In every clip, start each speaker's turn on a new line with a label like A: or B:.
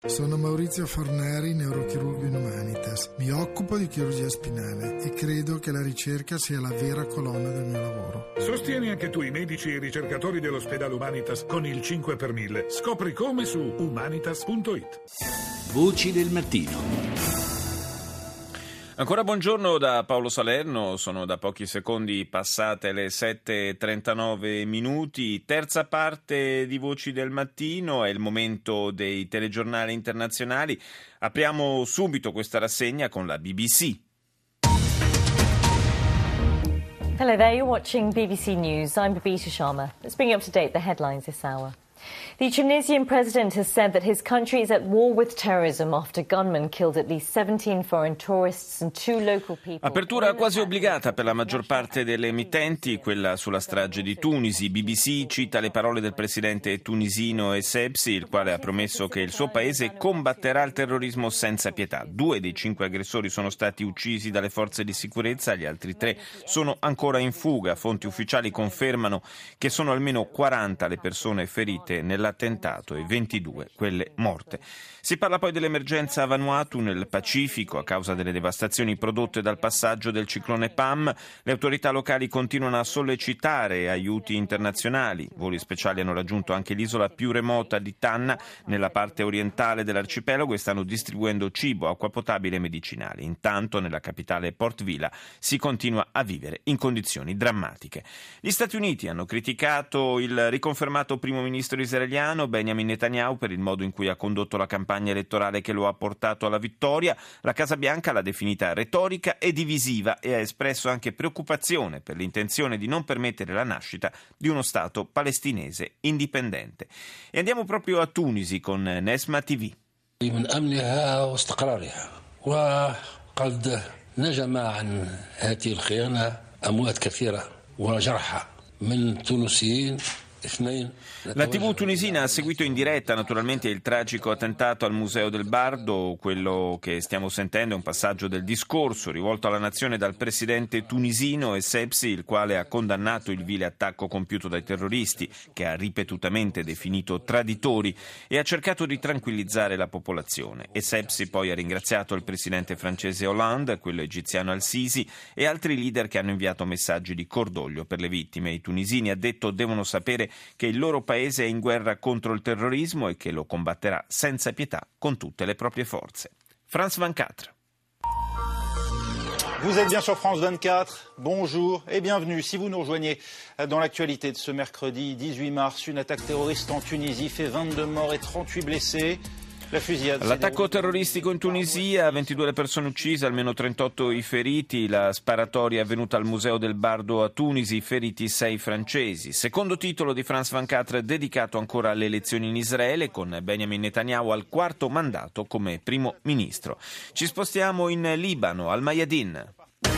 A: Sono Maurizio Forneri, neurochirurgo in Humanitas. Mi occupo di chirurgia spinale e credo che la ricerca sia la vera colonna del mio lavoro.
B: Sostieni anche tu i medici e i ricercatori dell'ospedale Humanitas con il 5 per 1000. Scopri come su humanitas.it.
C: Voci del mattino.
D: Ancora buongiorno da Paolo Salerno, sono da pochi secondi passate le 7:39 minuti, terza parte di Voci del Mattino, è il momento dei telegiornali internazionali. Apriamo subito questa rassegna con la BBC.
E: Hello there, you're watching BBC News. I'm Babita Sharma. Let's bring you up to date the headlines this hour. The Tunisian president has said that his country is at war with terrorism after gunmen killed at least 17 foreign tourists and 2 local people.
D: Apertura quasi obbligata per la maggior parte delle emittenti, quella sulla strage di Tunisi. BBC cita le parole del presidente tunisino Essebsi, il quale ha promesso che il suo paese combatterà il terrorismo senza pietà. 2 dei 5 aggressori sono stati uccisi dalle forze di sicurezza, gli altri 3 sono ancora in fuga. Fonti ufficiali confermano che sono almeno 40 le persone ferite nell'attentato e 22 quelle morte. Si parla poi dell'emergenza a Vanuatu nel Pacifico a causa delle devastazioni prodotte dal passaggio del ciclone Pam. Le autorità locali continuano a sollecitare aiuti internazionali. Voli speciali hanno raggiunto anche l'isola più remota di Tanna nella parte orientale dell'arcipelago e stanno distribuendo cibo, acqua potabile e medicinali. Intanto nella capitale Port Vila si continua a vivere in condizioni drammatiche. Gli Stati Uniti hanno criticato il riconfermato primo ministro israeliano Benjamin Netanyahu per il modo in cui ha condotto la campagna elettorale che lo ha portato alla vittoria. La Casa Bianca l'ha definita retorica e divisiva e ha espresso anche preoccupazione per l'intenzione di non permettere la nascita di uno Stato palestinese indipendente. E andiamo proprio a Tunisi con Nesma TV.
F: من أمنها واستقرارها وقد نجم عن هذه الخيانة أموات كثيرة وجرحى من تونسيين.
D: La TV tunisina ha seguito in diretta naturalmente il tragico attentato al Museo del Bardo. Quello che stiamo sentendo è un passaggio del discorso rivolto alla nazione dal presidente tunisino Essebsi, il quale ha condannato il vile attacco compiuto dai terroristi, che ha ripetutamente definito traditori, e ha cercato di tranquillizzare la popolazione. Essebsi poi ha ringraziato il presidente francese Hollande, quello egiziano Al-Sisi e altri leader che hanno inviato messaggi di cordoglio per le vittime. I tunisini, ha detto, devono sapere che il loro paese è in guerra contro il terrorismo e che lo combatterà senza pietà con tutte le proprie forze. France 24.
G: Vous êtes bien sur France 24, bonjour et bienvenue. Si vous nous rejoignez dans l'actualité de ce mercredi 18 mars, une attaque terroriste en Tunisie fait 22 morts et 38 blessés.
D: L'attacco terroristico in Tunisia, 22 le persone uccise, almeno 38 i feriti. La sparatoria è avvenuta al Museo del Bardo a Tunisi, feriti 6 francesi. Secondo titolo di France 24 dedicato ancora alle elezioni in Israele, con Benjamin Netanyahu al 4º mandato come primo ministro. Ci spostiamo in Libano, al Mayadin.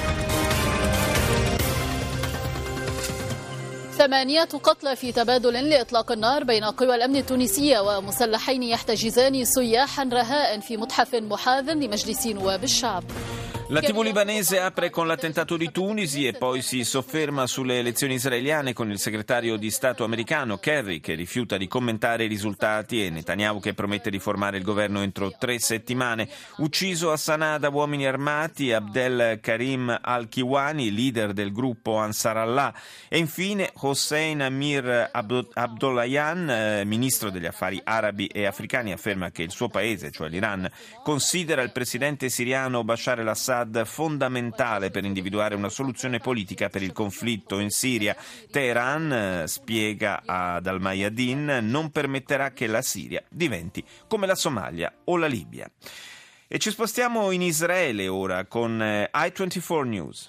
H: 8 قتلى في تبادل لإطلاق النار بين قوى الأمن التونسية ومسلحين يحتجزان سياحا رهاء في متحف محاذ لمجلس نواب الشعب.
D: La TV libanese apre con l'attentato di Tunisi e poi si sofferma sulle elezioni israeliane con il segretario di Stato americano Kerry che rifiuta di commentare i risultati e Netanyahu che promette di formare il governo entro 3 settimane. Ucciso a Sana'a da uomini armati Abdel Karim al-Kiwani, leader del gruppo Ansar Allah, e infine Hossein Amir Abdollahian, ministro degli affari arabi e africani, afferma che il suo paese, cioè l'Iran, considera il presidente siriano Bashar al-Assad fondamentale per individuare una soluzione politica per il conflitto in Siria. Teheran, spiega ad Al-Mayadin, non permetterà che la Siria diventi come la Somalia o la Libia. E ci spostiamo in Israele ora con I24 News.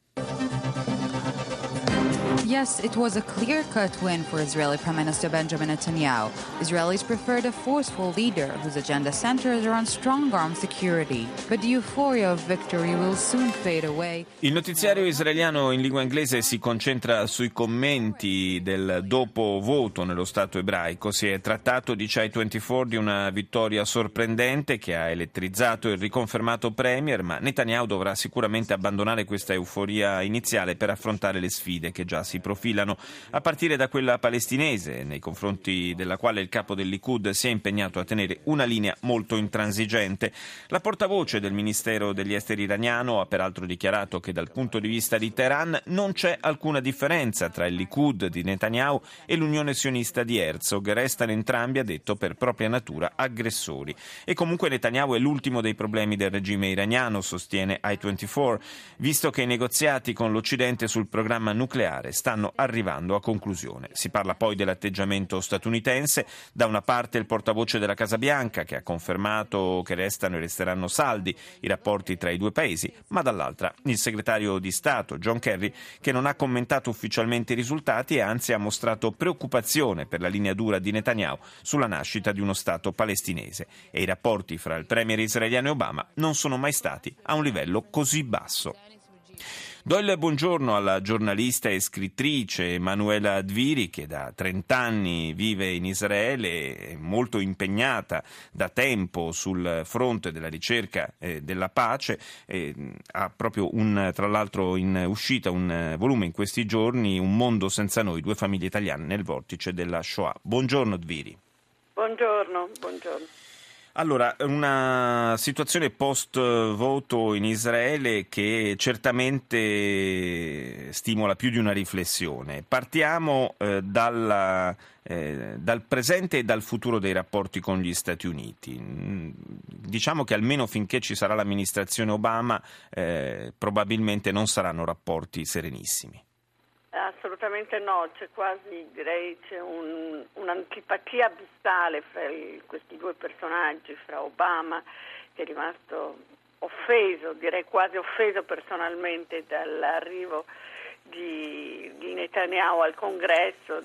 I: Yes, it was a clear-cut win for Israeli Prime Minister Benjamin Netanyahu. Israelis preferred a forceful leader whose agenda centers around strong armed security. But the euphoria of victory will soon fade away.
D: Il notiziario israeliano in lingua inglese si concentra sui commenti del dopo voto nello Stato ebraico. Si è trattato, dice I24, di una vittoria sorprendente che ha elettrizzato il riconfermato premier, ma Netanyahu dovrà sicuramente abbandonare questa euforia iniziale per affrontare le sfide che già si si profilano, a partire da quella palestinese, nei confronti della quale il capo del Likud si è impegnato a tenere una linea molto intransigente. La portavoce del Ministero degli Esteri iraniano ha peraltro dichiarato che dal punto di vista di Teheran non c'è alcuna differenza tra il Likud di Netanyahu e l'Unione sionista di Herzog. Restano entrambi, ha detto, per propria natura aggressori. E comunque Netanyahu è l'ultimo dei problemi del regime iraniano, sostiene I24, visto che i negoziati con l'Occidente sul programma nucleare stanno arrivando a conclusione. Si parla poi dell'atteggiamento statunitense, da una parte il portavoce della Casa Bianca che ha confermato che restano e resteranno saldi i rapporti tra i due paesi, ma dall'altra il segretario di Stato John Kerry, che non ha commentato ufficialmente i risultati e anzi ha mostrato preoccupazione per la linea dura di Netanyahu sulla nascita di uno Stato palestinese, e i rapporti fra il premier israeliano e Obama non sono mai stati a un livello così basso. Do il buongiorno alla giornalista e scrittrice Manuela Dviri, che da 30 anni vive in Israele, è molto impegnata da tempo sul fronte della ricerca della pace, ha proprio tra l'altro in uscita un volume in questi giorni, Un mondo senza noi, 2 famiglie italiane nel vortice della Shoah. Buongiorno Dviri.
J: Buongiorno.
D: Allora, una situazione post-voto in Israele che certamente stimola più di una riflessione. Partiamo dal presente e dal futuro dei rapporti con gli Stati Uniti. Diciamo che almeno finché ci sarà l'amministrazione Obama, probabilmente non saranno rapporti serenissimi.
J: Assolutamente no, c'è un'antipatia abissale fra questi due personaggi, fra Obama, che è rimasto offeso, direi quasi offeso personalmente dall'arrivo di Netanyahu al Congresso,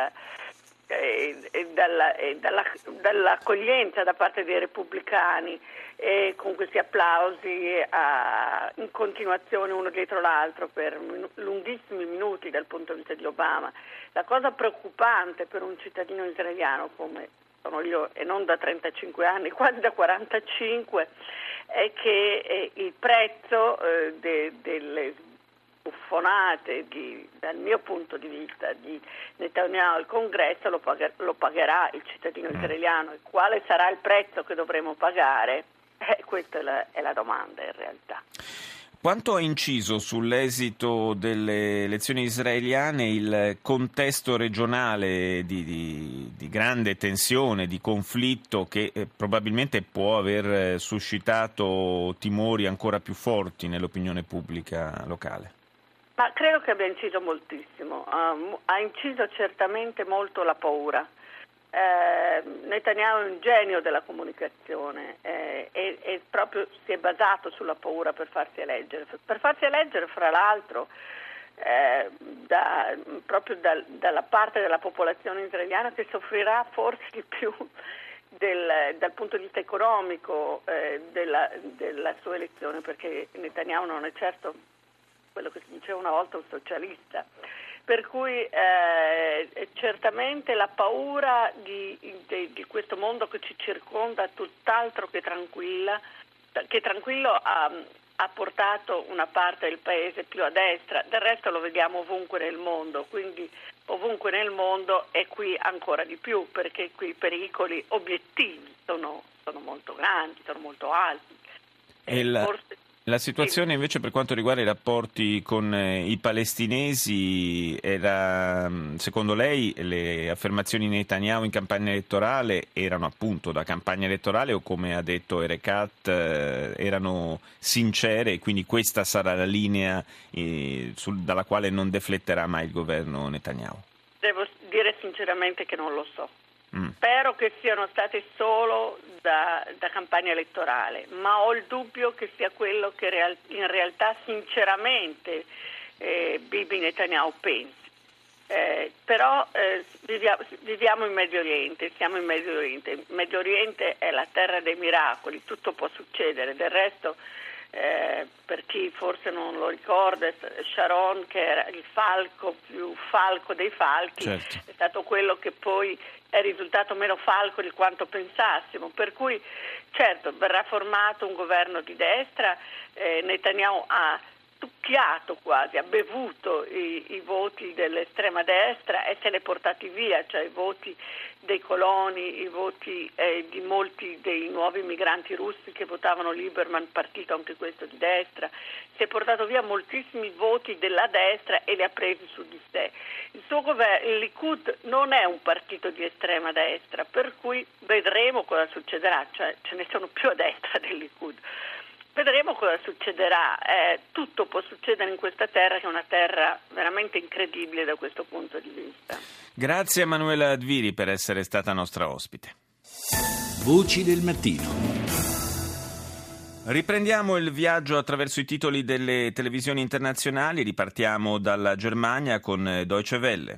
J: dall'accoglienza da parte dei repubblicani, e con questi applausi in continuazione uno dietro l'altro per lunghissimi minuti dal punto di vista di Obama. La cosa preoccupante per un cittadino israeliano come sono io, e non da 35 anni, quasi da 45, è che il prezzo delle buffonate dal mio punto di vista di Netanyahu al Congresso lo pagherà il cittadino israeliano. E quale sarà il prezzo che dovremo pagare? Questa è la domanda in realtà.
D: Quanto ha inciso sull'esito delle elezioni israeliane il contesto regionale di grande tensione, di conflitto, che probabilmente può aver suscitato timori ancora più forti nell'opinione pubblica locale?
J: Ma credo che abbia inciso moltissimo. Ha inciso certamente molto la paura. Netanyahu è un genio della comunicazione e proprio si è basato sulla paura per farsi eleggere. Fra l'altro proprio dalla parte della popolazione israeliana che soffrirà forse di più dal punto di vista economico della sua elezione, perché Netanyahu non è certo quello che si diceva una volta un socialista. Per cui certamente la paura di questo mondo che ci circonda, tutt'altro che tranquillo, ha portato una parte del paese più a destra. Del resto lo vediamo ovunque nel mondo, quindi ovunque nel mondo e qui ancora di più, perché qui i pericoli obiettivi sono molto grandi, sono molto alti.
D: La situazione invece per quanto riguarda i rapporti con i palestinesi era, secondo lei, le affermazioni di Netanyahu in campagna elettorale erano appunto da campagna elettorale o, come ha detto Erekat, erano sincere e quindi questa sarà la linea dalla quale non defletterà mai il governo Netanyahu? Devo
J: dire sinceramente che non lo so. Spero che siano state solo da campagna elettorale, ma ho il dubbio che sia quello che in realtà sinceramente Bibi Netanyahu pensi. Però viviamo in Medio Oriente, siamo in Medio Oriente. Il Medio Oriente è la terra dei miracoli, tutto può succedere. Del resto, per chi forse non lo ricorda, Sharon, che era il falco più falco dei falchi, certo, è stato quello che poi è risultato meno falco di quanto pensassimo, per cui certo verrà formato un governo di destra. Netanyahu ha succhiato quasi, ha bevuto i voti dell'estrema destra e se li ha portati via, cioè i voti dei coloni, i voti di molti dei nuovi migranti russi che votavano Lieberman, partito anche questo di destra, si è portato via moltissimi voti della destra e li ha presi su di sé. Il suo governo, il Likud, non è un partito di estrema destra, per cui vedremo cosa succederà, cioè ce ne sono più a destra del Likud. Vedremo cosa succederà, tutto può succedere in questa terra che è una terra veramente incredibile da questo punto di vista.
D: Grazie a Manuela Adviri per essere stata nostra ospite.
C: Voci del mattino.
D: Riprendiamo il viaggio attraverso i titoli delle televisioni internazionali, ripartiamo dalla Germania con Deutsche Welle.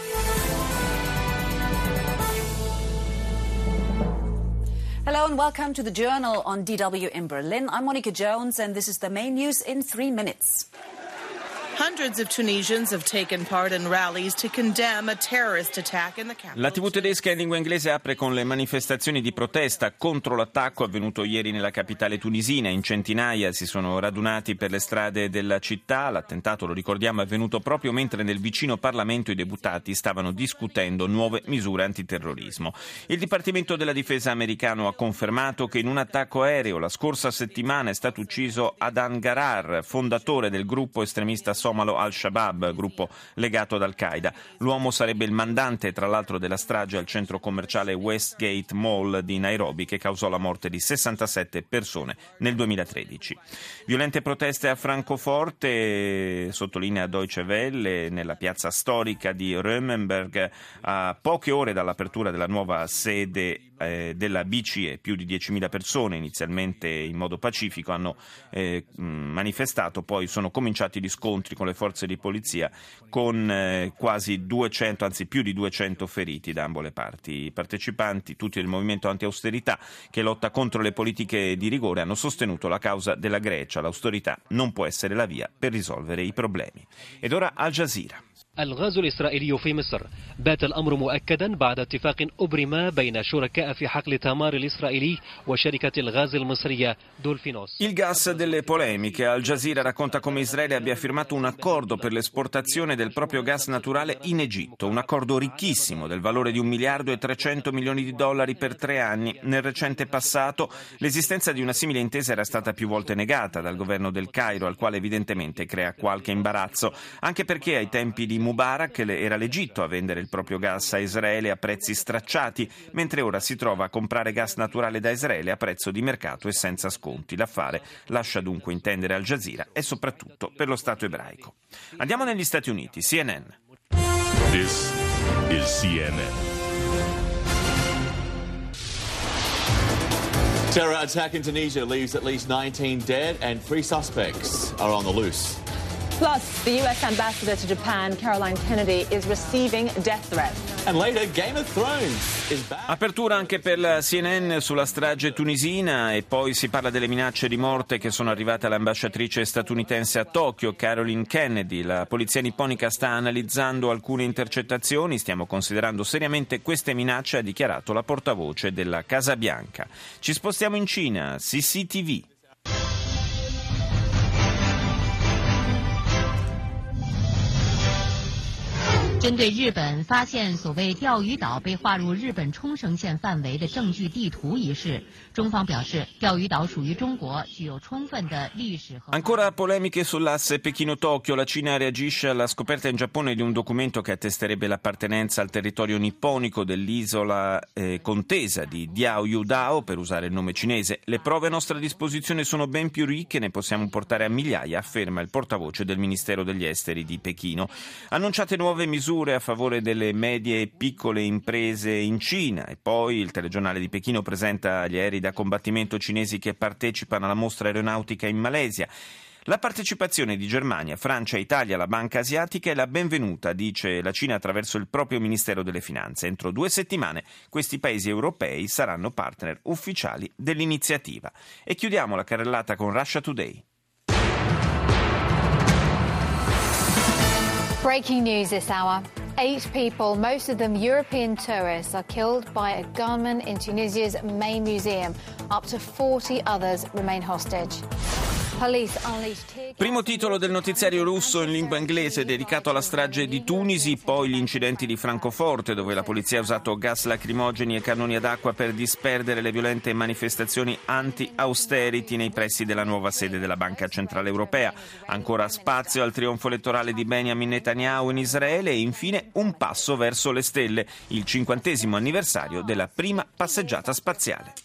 K: Hello and welcome to the Journal on DW in Berlin. I'm Monica Jones and this is the main news in 3 minutes.
L: Hundreds of Tunisians have taken part in rallies to condemn a terrorist attack in the capital.
D: La TV tedesca in lingua inglese apre con le manifestazioni di protesta contro l'attacco avvenuto ieri nella capitale tunisina. In centinaia si sono radunati per le strade della città. L'attentato, lo ricordiamo, è avvenuto proprio mentre nel vicino Parlamento i deputati stavano discutendo nuove misure antiterrorismo. Il Dipartimento della Difesa americano ha confermato che in un attacco aereo la scorsa settimana è stato ucciso Adan Garar, fondatore del gruppo estremista somalo Al-Shabaab, gruppo legato ad Al-Qaeda. L'uomo sarebbe il mandante, tra l'altro, della strage al centro commerciale Westgate Mall di Nairobi, che causò la morte di 67 persone nel 2013. Violente proteste a Francoforte, sottolinea Deutsche Welle, nella piazza storica di Römenberg, a poche ore dall'apertura della nuova sede della BCE. Più di 10.000 persone, inizialmente in modo pacifico, hanno manifestato, poi sono cominciati gli scontri con le forze di polizia, con quasi 200, anzi più di 200 feriti da ambo le parti. I partecipanti, tutti del movimento anti-austerità che lotta contro le politiche di rigore, hanno sostenuto la causa della Grecia. L'austerità non può essere la via per risolvere i problemi. Ed ora Al Jazeera.
M: الغاز الإسرائيلي في مصر بات الأمر مؤكدا بعد اتفاق أبرم بين شركاء في حقل تمار الإسرائيلي وشركة الغاز المصرية دولفينوس.
D: Il gas delle polemiche. Al Jazeera racconta come Israele abbia firmato un accordo per l'esportazione del proprio gas naturale in Egitto, un accordo ricchissimo del valore di $1,3 miliardi per 3 anni. Nel recente passato l'esistenza di una simile intesa era stata più volte negata dal governo del Cairo, al quale evidentemente crea qualche imbarazzo, anche perché ai tempi di Mubarak era l'Egitto a vendere il proprio gas a Israele a prezzi stracciati, mentre ora si trova a comprare gas naturale da Israele a prezzo di mercato e senza sconti. L'affare lascia dunque intendere Al Jazeera e soprattutto per lo Stato ebraico. Andiamo negli Stati Uniti. CNN.
N: This is CNN.
O: Terror attack in Tunisia leaves at least 19 dead and 3 suspects are on the loose.
P: Plus, the U.S. ambassador to Japan, Caroline Kennedy, is receiving death threats.
O: And later, Game of Thrones is back.
D: Apertura anche per la CNN sulla strage tunisina e poi si parla delle minacce di morte che sono arrivate all'ambasciatrice statunitense a Tokyo, Caroline Kennedy. La polizia nipponica sta analizzando alcune intercettazioni, stiamo considerando seriamente queste minacce, ha dichiarato la portavoce della Casa Bianca. Ci spostiamo in Cina, CCTV.
Q: 针对日本发现所谓钓鱼岛被划入日本冲绳县范围的证据地图一事，中方表示，钓鱼岛属于中国，具有充分的历史和。
D: Ancora polemiche sull'asse Pechino-Tokyo. La Cina reagisce alla scoperta in Giappone di un documento che attesterebbe l'appartenenza al territorio nipponico dell'isola contesa di Diaoyudao, per usare il nome cinese. Le prove a nostra disposizione sono ben più ricche, ne possiamo portare a migliaia, afferma il portavoce del Ministero degli Esteri di Pechino. Annunciate nuove misure a favore delle medie e piccole imprese in Cina e poi il telegiornale di Pechino presenta gli aerei da combattimento cinesi che partecipano alla mostra aeronautica in Malesia. La partecipazione di Germania, Francia e Italia alla Banca Asiatica è la benvenuta, dice la Cina attraverso il proprio Ministero delle Finanze. Entro 2 settimane questi paesi europei saranno partner ufficiali dell'iniziativa. E chiudiamo la carrellata con Russia Today.
R: Breaking news this hour. 8 people, most of them European tourists, are killed by a gunman in Tunisia's main museum. Up to 40 others remain hostage. Police unleashed tear gas.
D: Primo titolo del notiziario russo in lingua inglese dedicato alla strage di Tunisi, poi gli incidenti di Francoforte dove la polizia ha usato gas lacrimogeni e cannoni ad acqua per disperdere le violente manifestazioni anti-austerity nei pressi della nuova sede della Banca Centrale Europea. Ancora spazio al trionfo elettorale di Benjamin Netanyahu in Israele e infine un passo verso le stelle, il 50° anniversario della prima passeggiata spaziale.